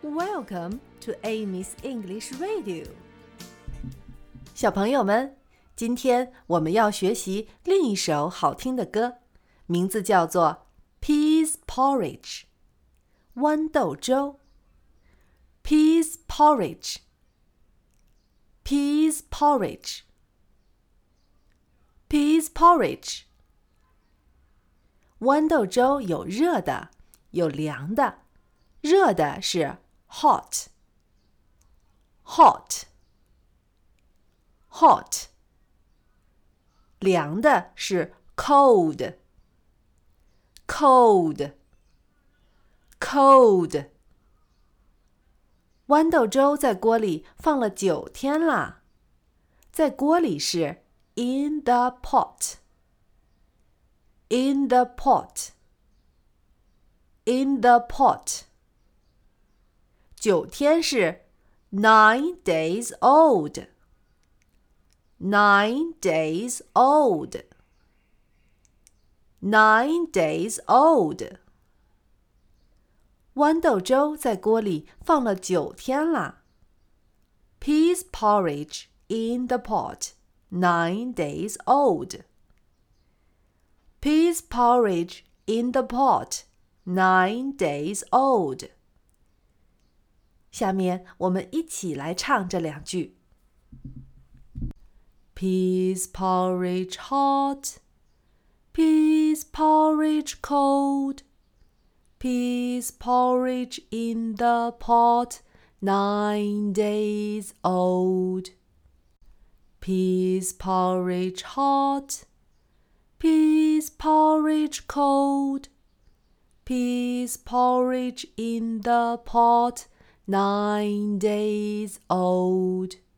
Welcome to Amy's English Radio。 小朋友们，今天我们要学习另一首好听的歌，名字叫做 Peas Porridge 豌豆粥。 Peas Porridge Peas Porridge Peas Porridge。 豌豆粥有热的，有凉的。热的是 hot hot hot， 凉的是 cold cold cold。 豌豆粥在锅里放了9天啦。在锅里是 in the pot in the pot in the pot。 9天是 9 days old9 days old9 days old。 豌豆粥在锅里放了9天啦。 Peas porridge in the pot 9 days old Peas porridge in the pot 9 days old。 下面我们一起来唱这2句。 Peas porridge hot Peas porridge cold Peas porridge in the pot 9 days old Peas porridge hot Peas porridge cold Peas porridge in the pot 9 days old